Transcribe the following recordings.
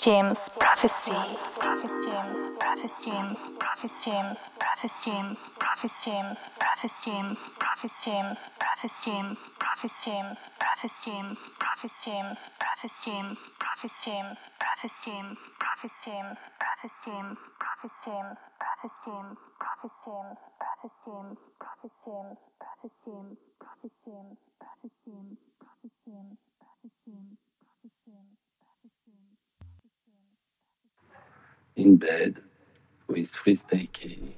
James Prophecy. In bed with Freestyle K.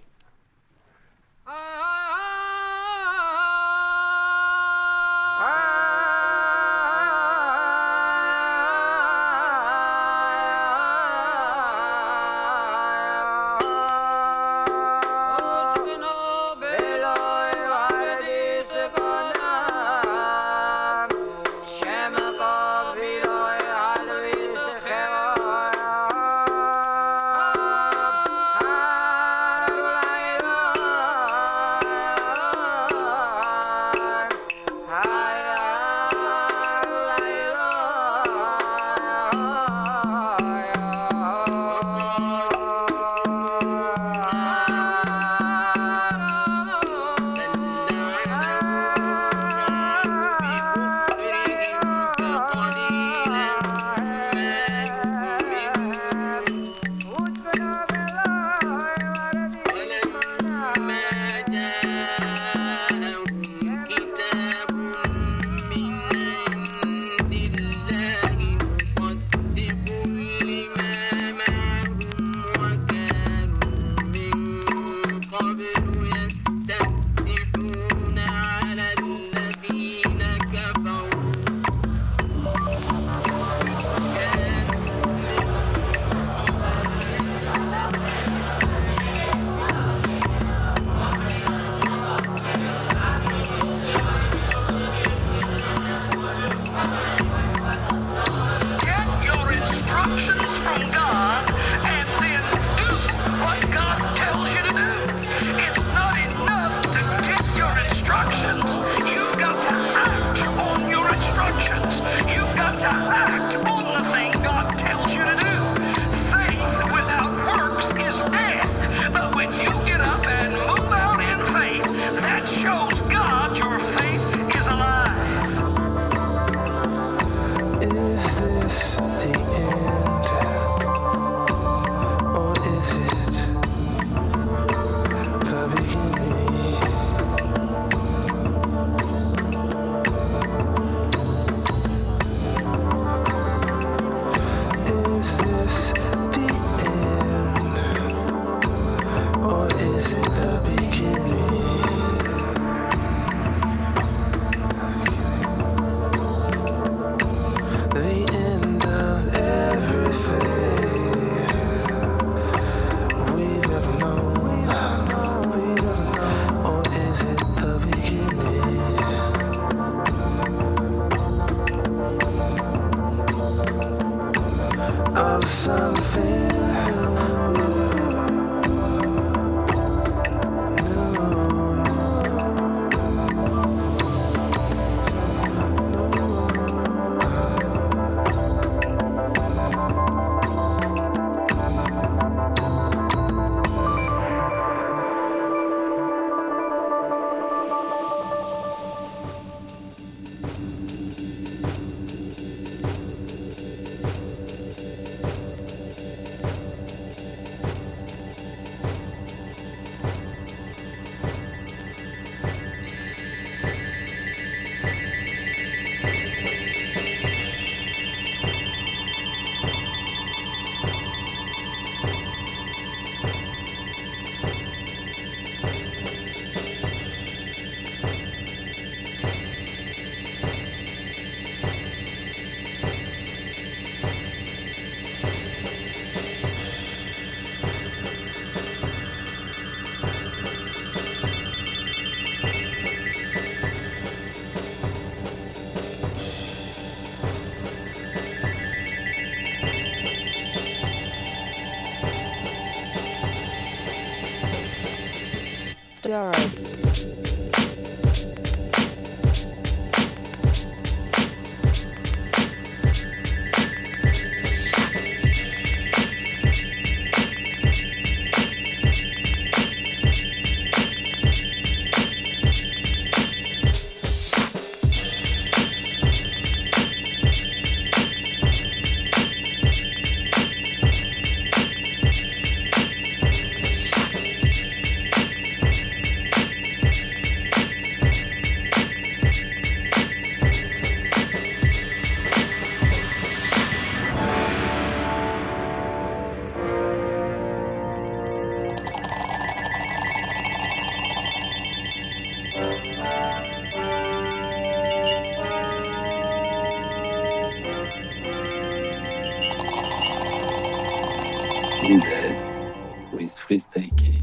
Walking Dead with Freestyle K.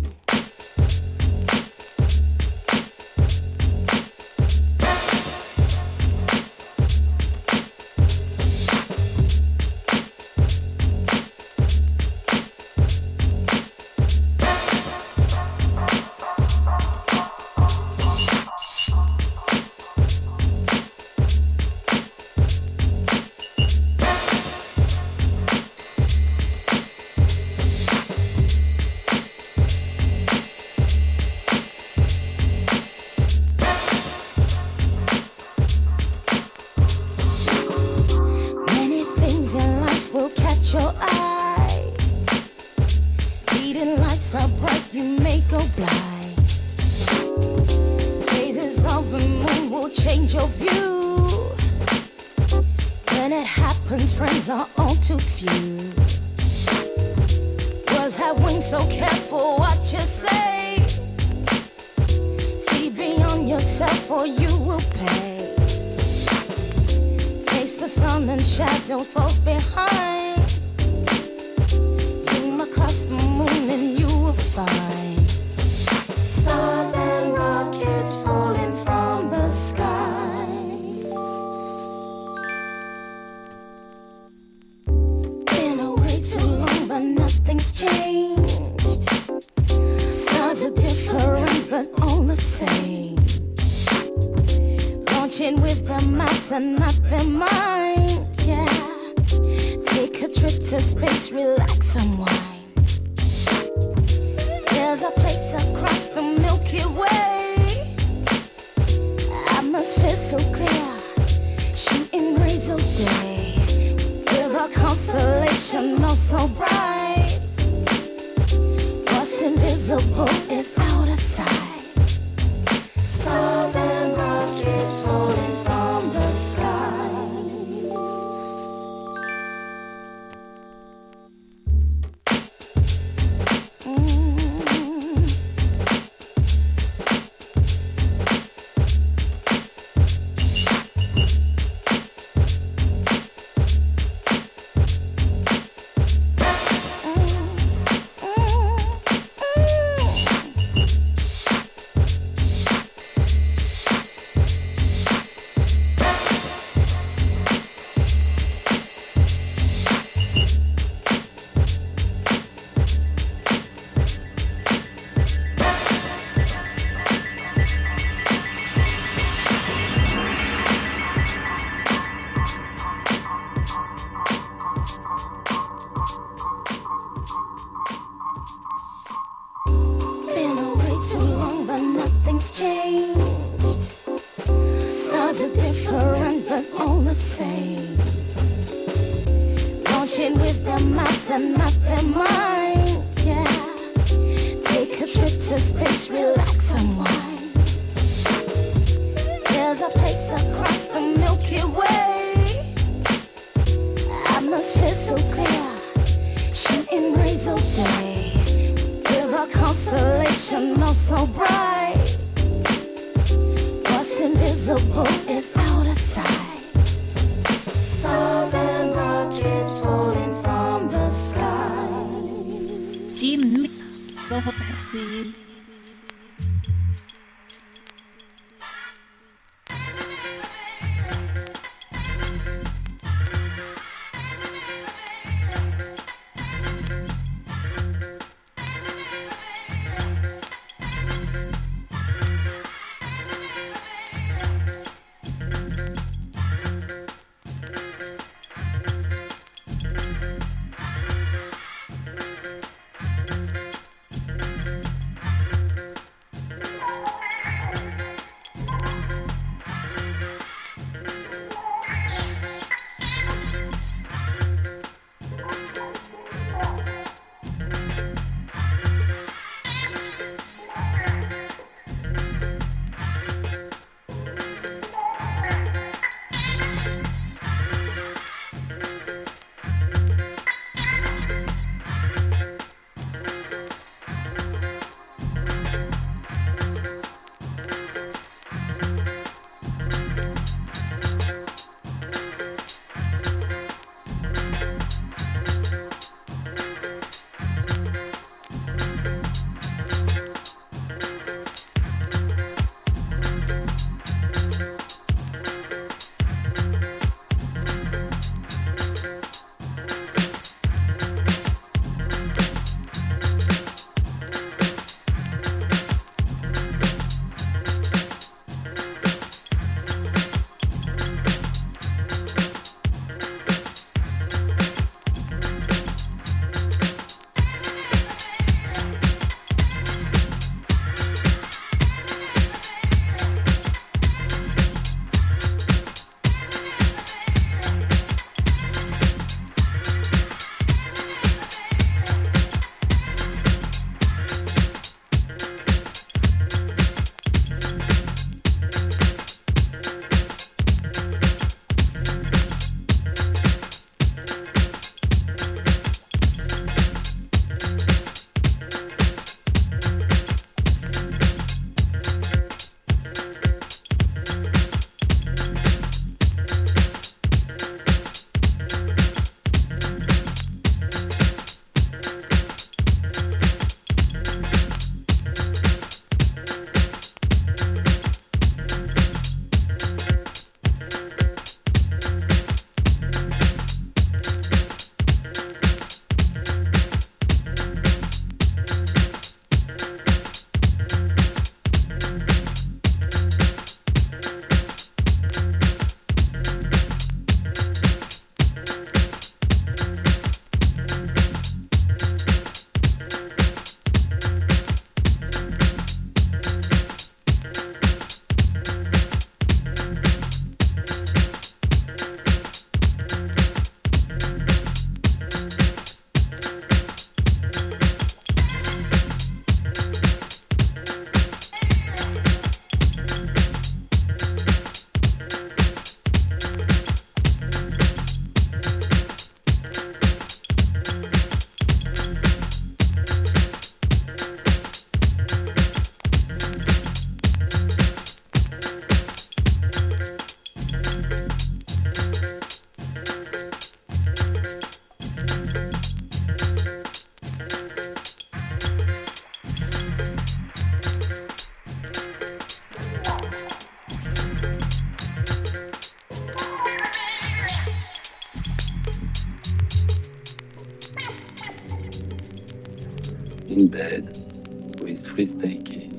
in bed with freestyle.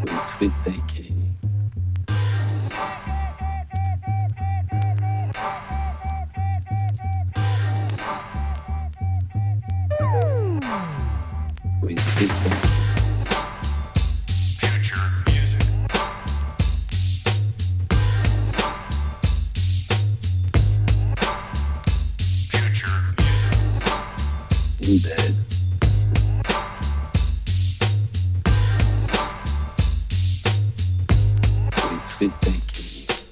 with freestyle K. With freestyle K. In bed. With freestyle K.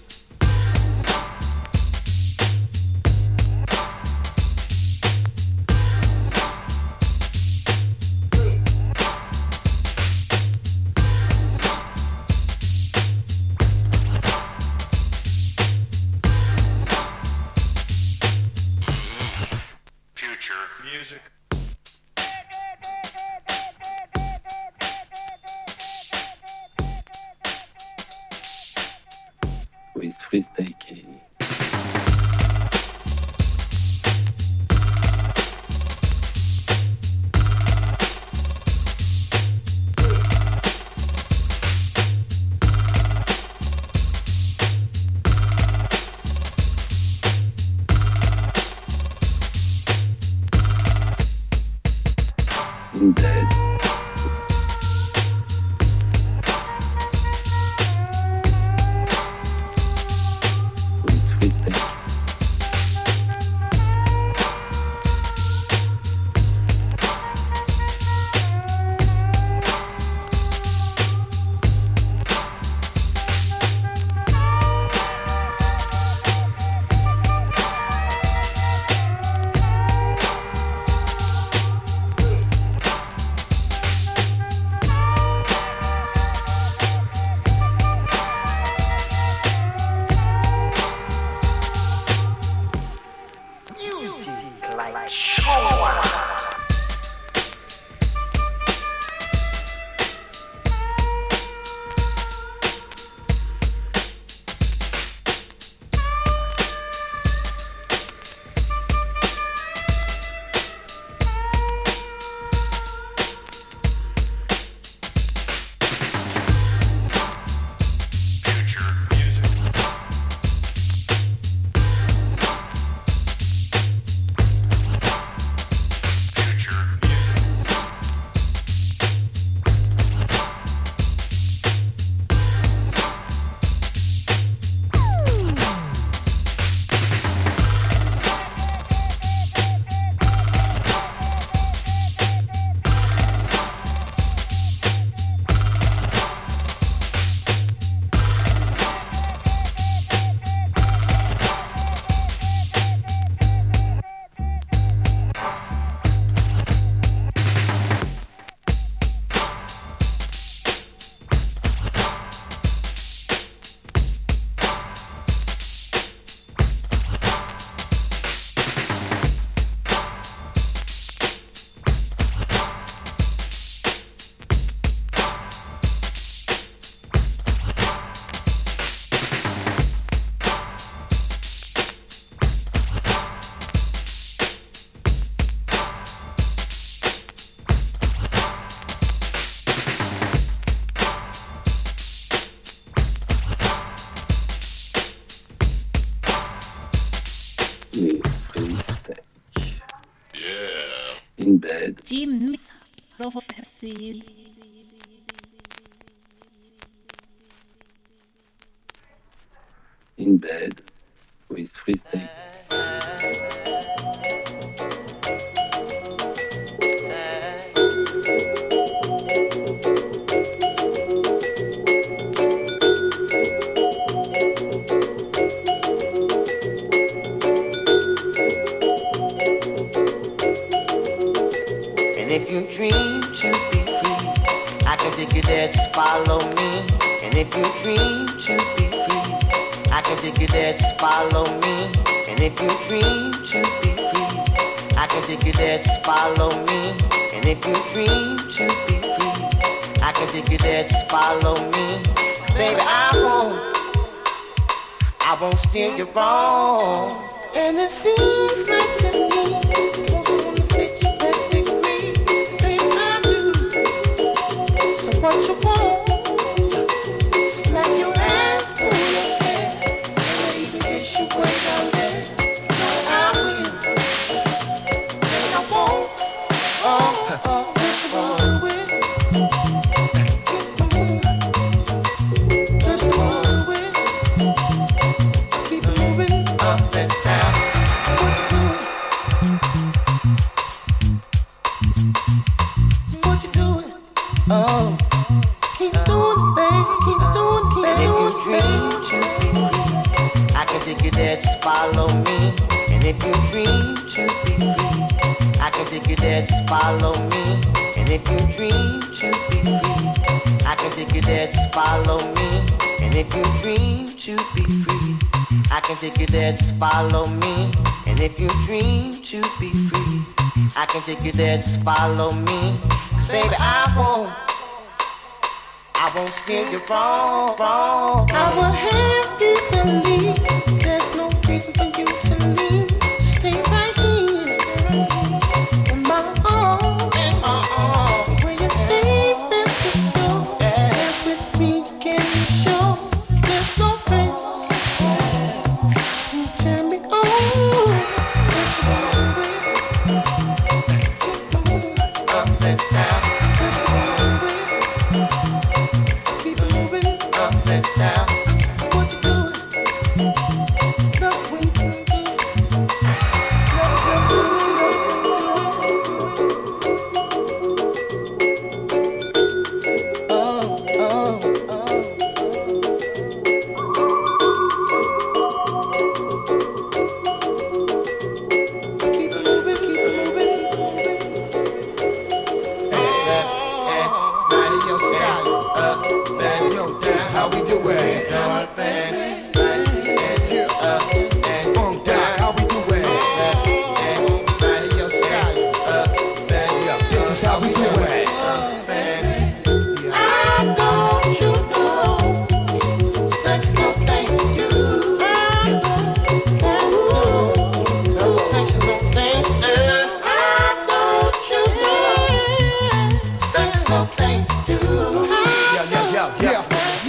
Music. With freestyle K. In bed. With freestyle K. Music like shower. With freestyle K. In bed. Jim Prophecy. In bed. With freestyle K. And if you dream to be free, I can take you there, just follow me. And if you dream to be free, I can take you there, just follow me. And if you dream to be free, I can take you there, just follow me. And if you dream to be free, I can take you there, just follow me. 'Cause baby, I won't steer you wrong. And it seems like to me, what you want, follow me. And if you dream to be free, I can take you there, just follow me. And if you dream to be free, I can take you there, just follow me. And if you dream to be free, I can take you there, just follow me. 'Cause baby, I won't steer you wrong. I will have you believe there's no reason for you to leave. Stay right here in my arms. Where you're safe and secure. And with me, can you show there's no friends? You turn me on. Let's go up and down. Now, what you doing? Nothing. Keep it moving. Radio style, radio down. How we do it? How we do it? Radio style, this is how we do it. I don't you know, sex no thank you. Sex no thank you. I don't you know, sex no thank you. Yeah.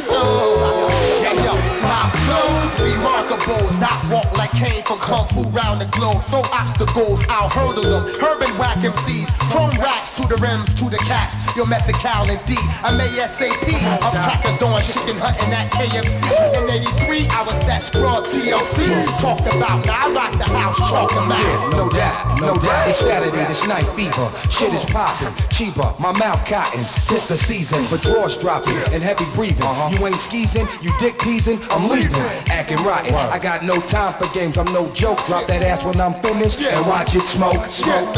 My flow's remarkable, not walk like Kane from Kung Fu round the globe. No obstacles, I'll hurdle them. Herman whack MCs, chrome racks to the rims, to the caps. Your method Cal and D, I'm ASAP. I'm cracker dawn, chicken hunting at KFC. In 83, I was that scrub TLC. Talked about, now I rock the house, chalk them out. Yeah, no doubt. It's Saturday, this night fever. Shit is popping, cheaper, my mouth cotton. Hit the season, but drawers dropping and heavy breathing. You ain't skeezing, you dick teasing, I'm leaving. Acting rotten, I got no time for games, I'm no joke. Drop that ass when I'm finished and watch it smoke. Smoke.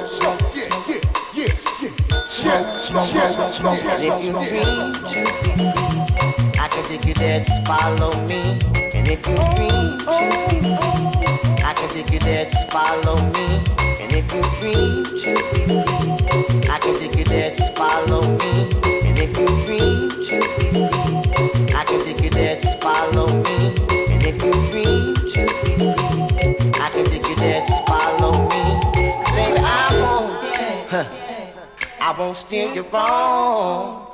And if you dream to be free, I can take you there, just follow me. And if you dream to be free, I can take you there, just follow me. And if you dream to be free, I can take you there, just follow me. And if you dream to be free, I can take you there, just follow me. And if you dream to be free, I can take you there, just follow me. 'Cause baby, I won't steer you wrong.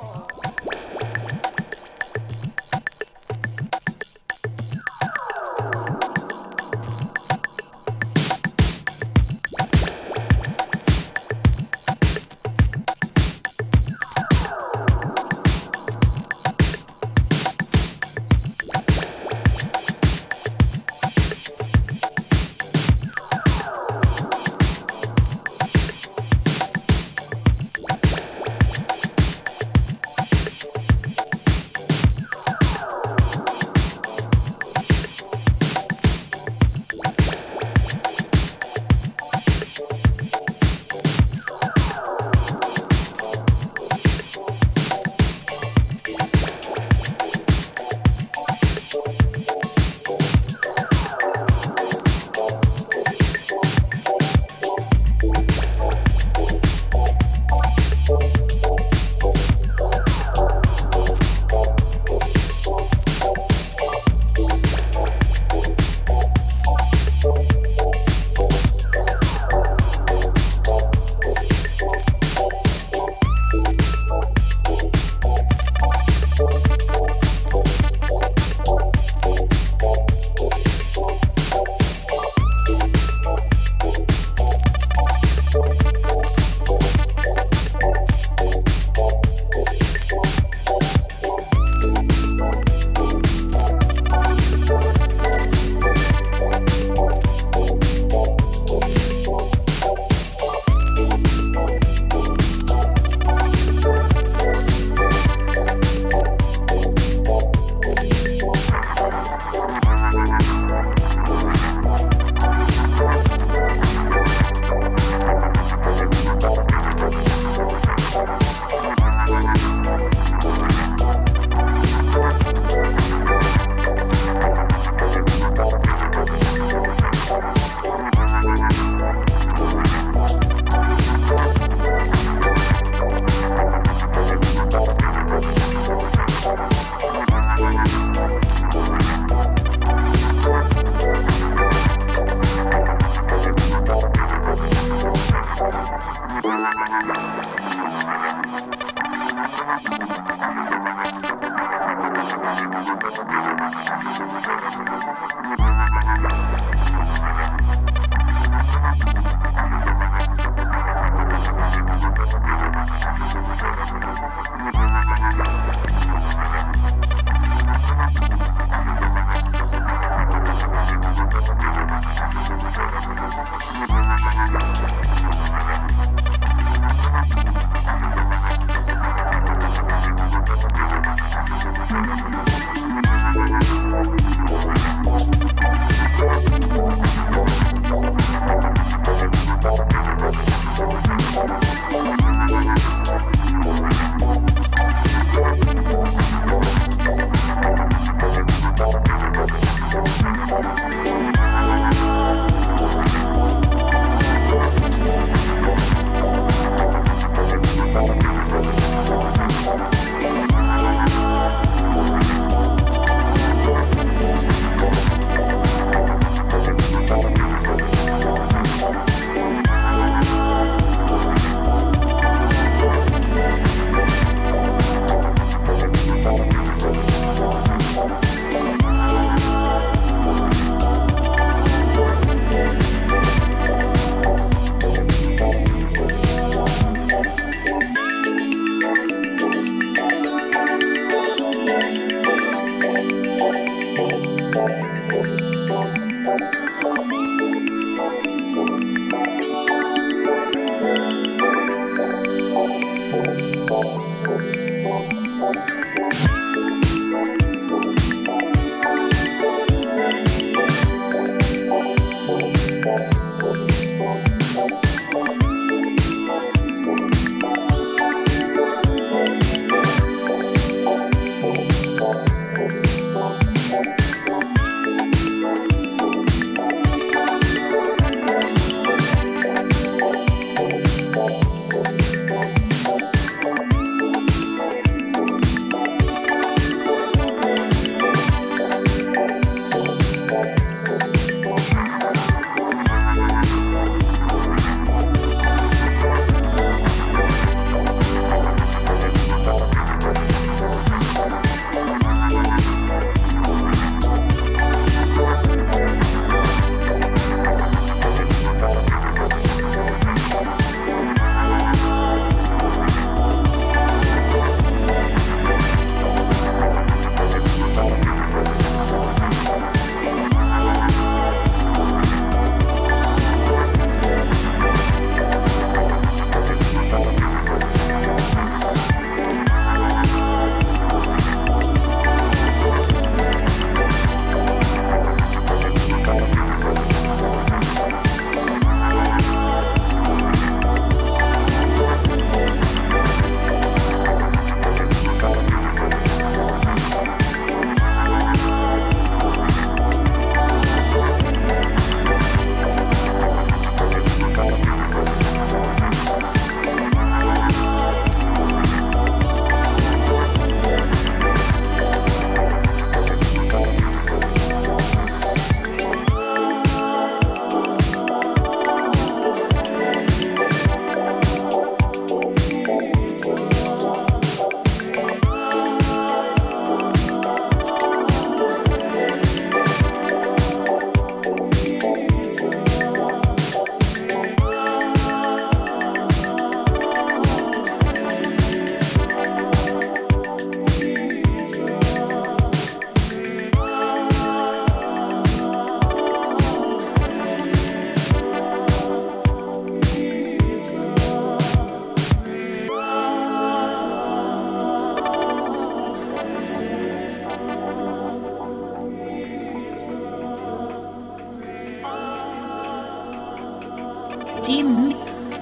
James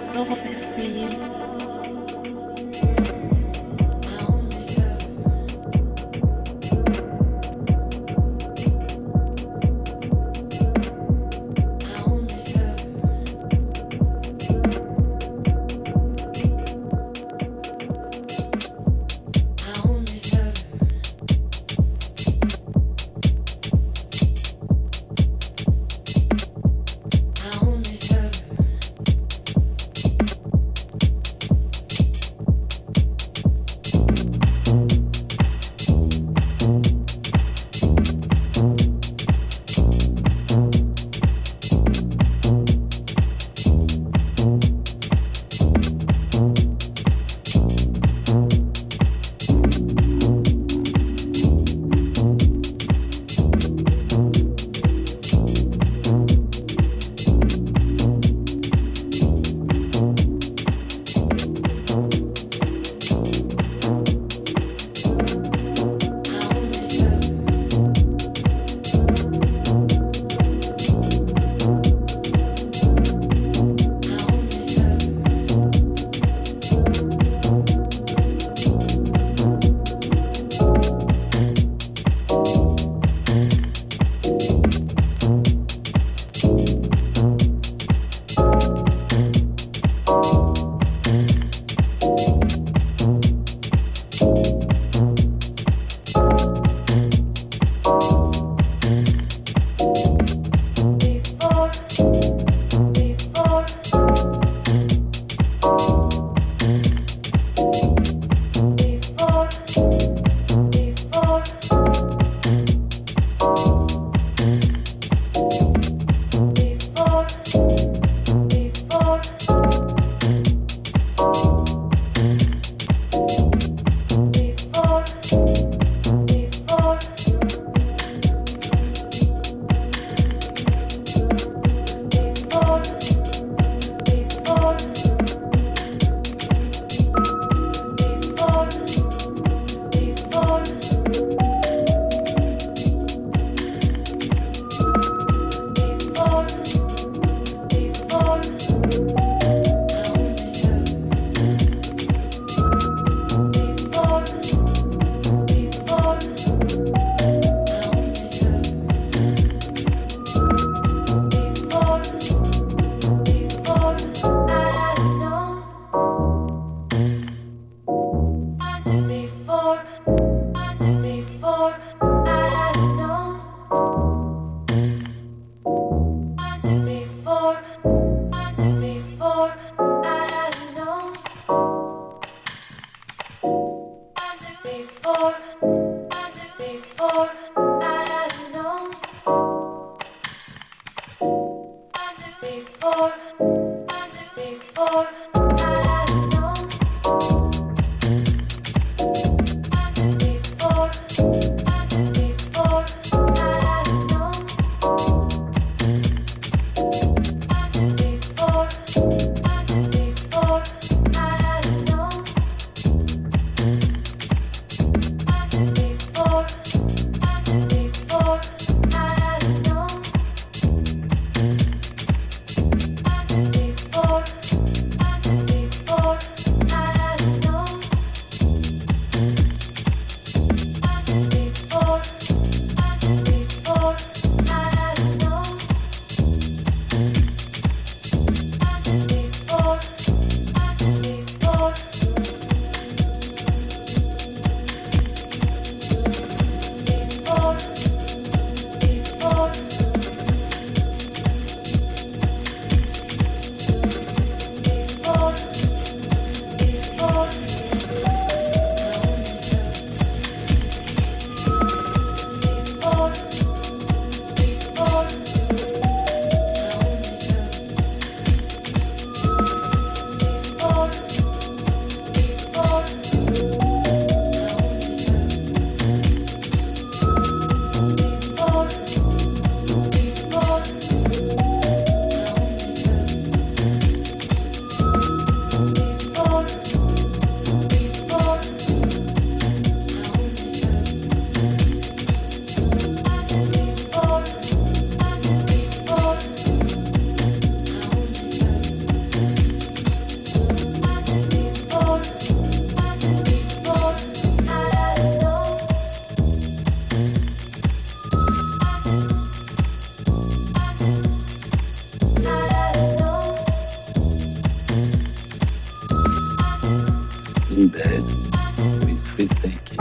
Prophecy. In bed with Freestake.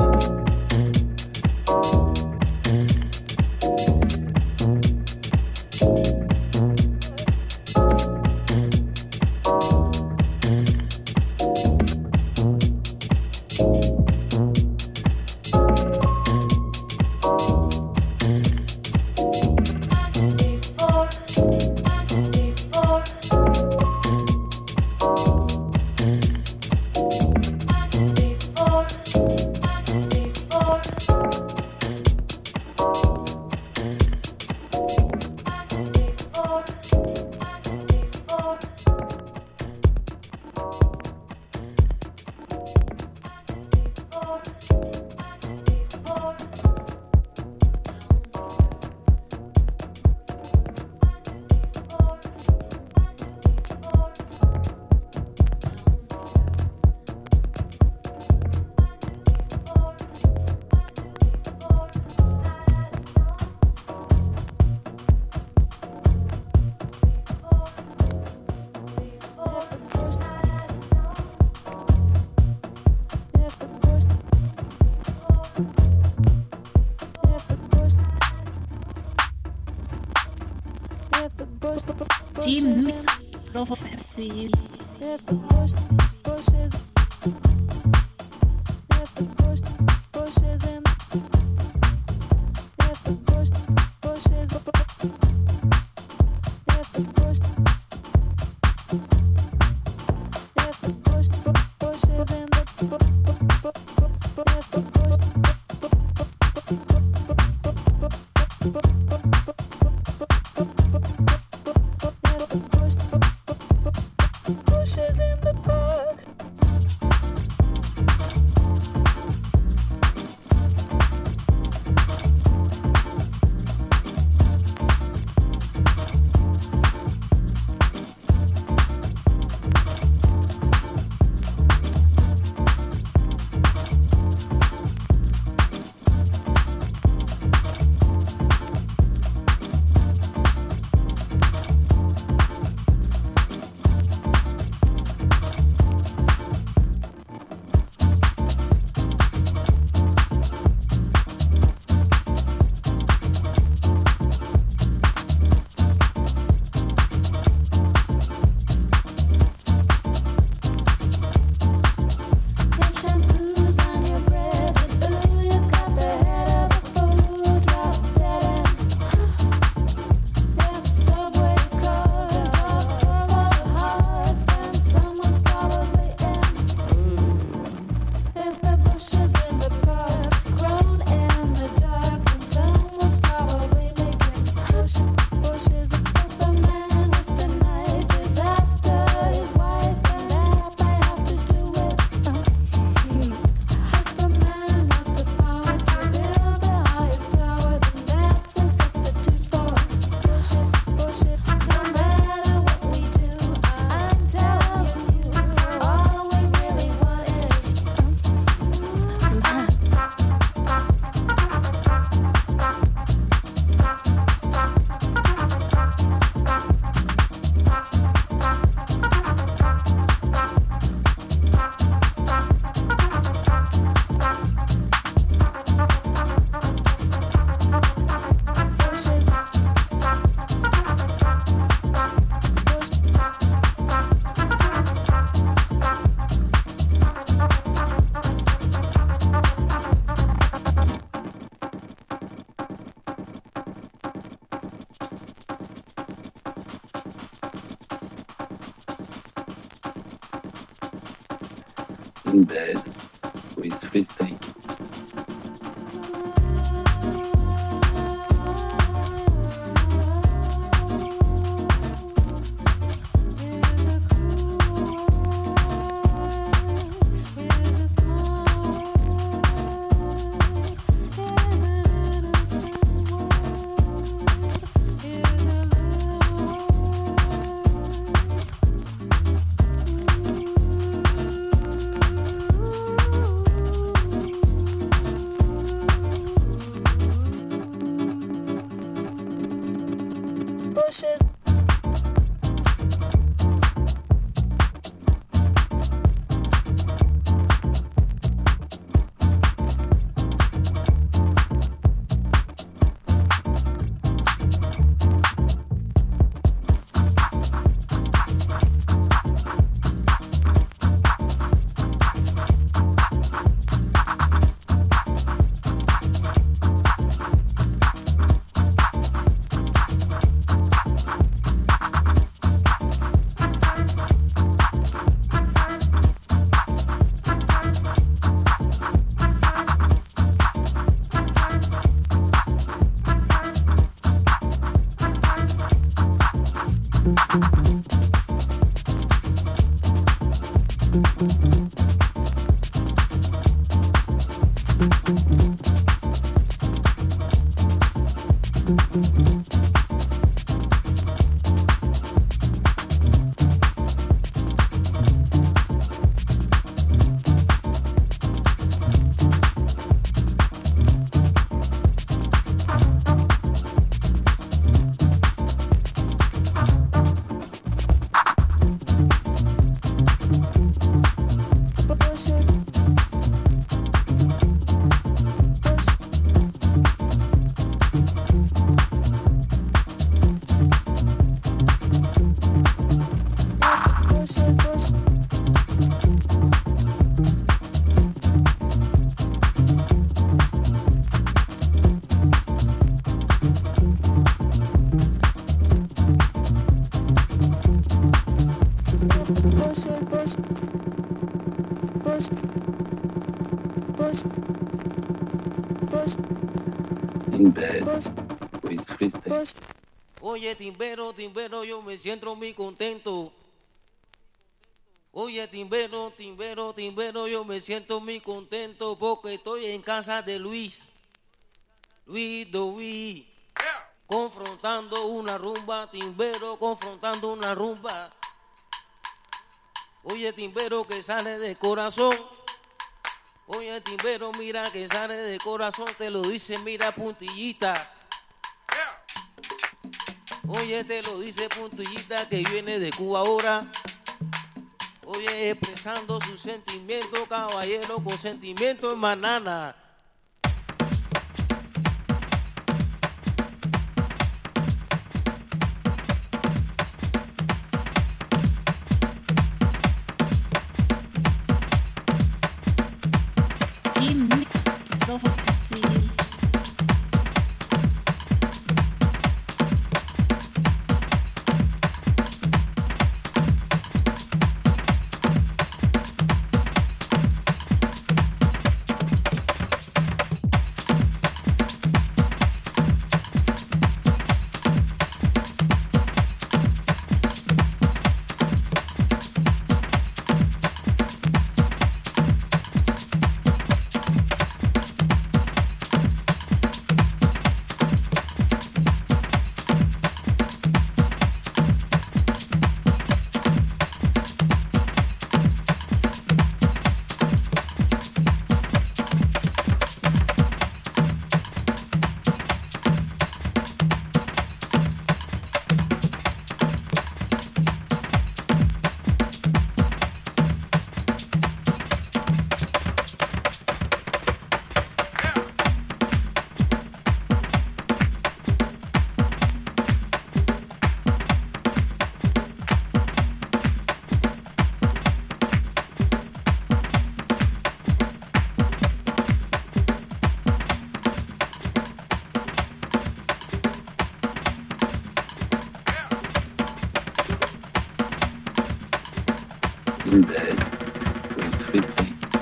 James Prophecy. Bushes in the park. In bed with free steak. In bed with free steak. Oye, timbero, timbero, yo me siento muy contento. Oye, timbero, timbero, timbero, yo me siento muy contento porque estoy en casa de Luis. Luis Doví. Confrontando una rumba, timbero, confrontando una rumba. Oye, timbero, que sale de corazón. Oye, timbero, mira que sale de corazón, te lo dice, mira, puntillita. Oye, te lo dice puntillita que viene de Cuba ahora. Oye, expresando su sentimiento, caballero, con sentimiento en banana. In bed with free steak.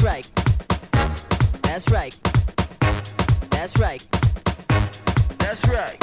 right. That's right. That's right. That's right.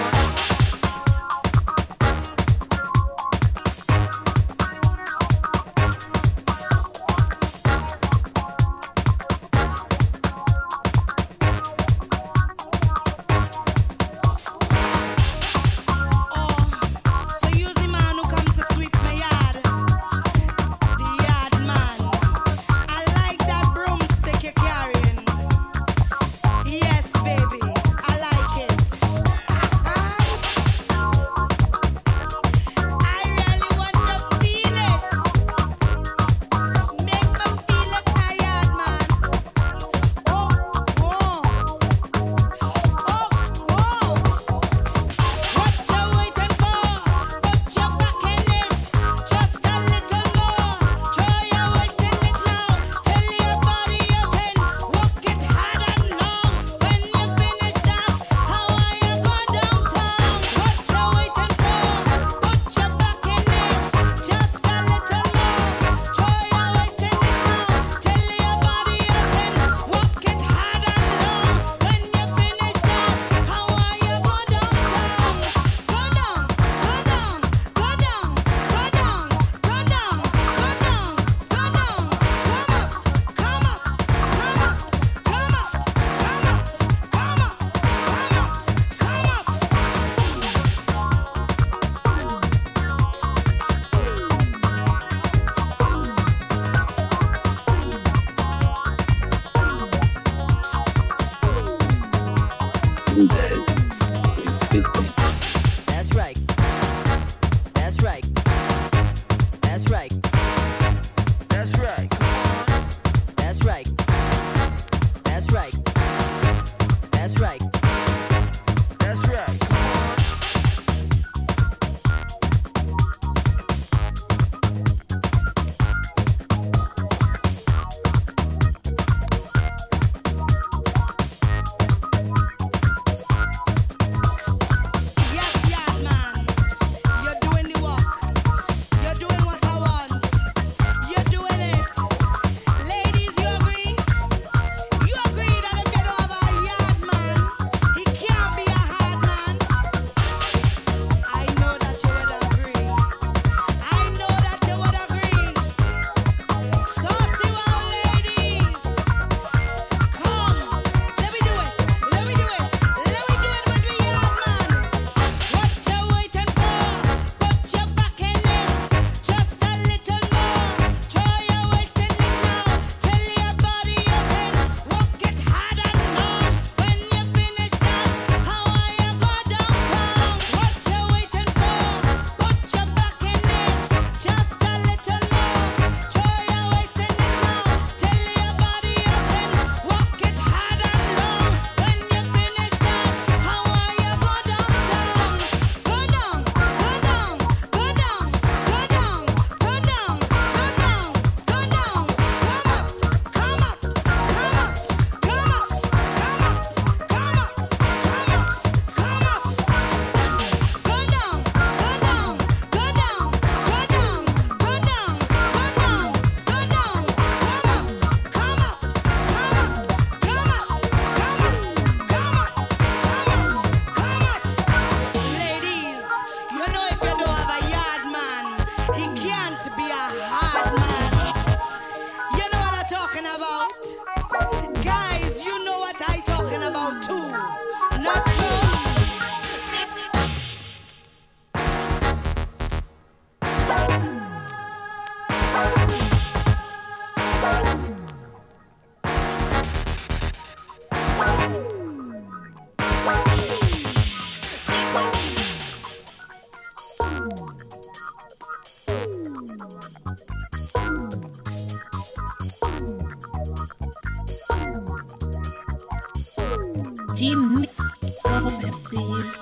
Jim Mix of FC.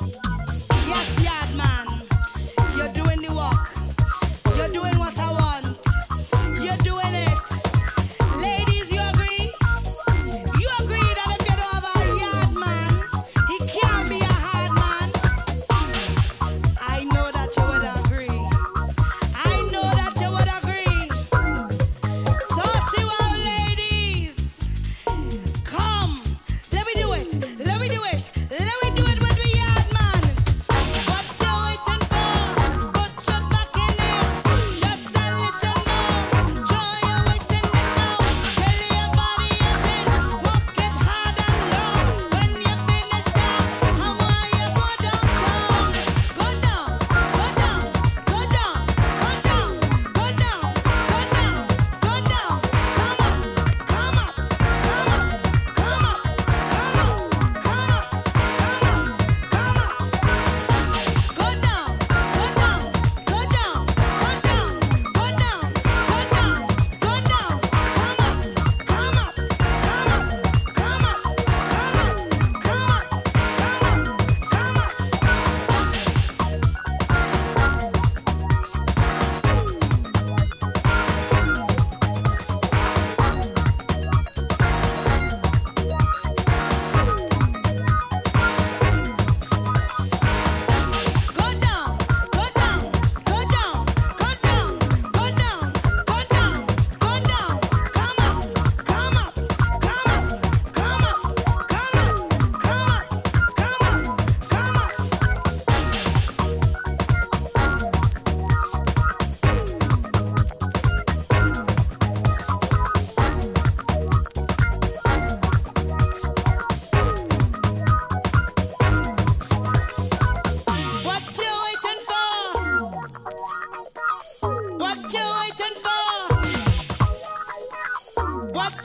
Yes, yard man, you're doing the work. You're doing what I want. You're doing it. Ladies, you agree? You agree that if you don't have a yard man, he can't be a hard man? I know that you would agree. I know that you would agree. So see what, ladies.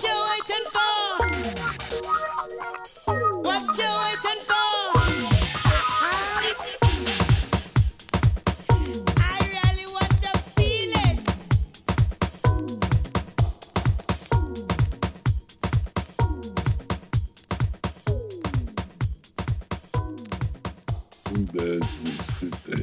What you waiting for? What you waiting for? I really want to feel it. In bed with Swiss Day.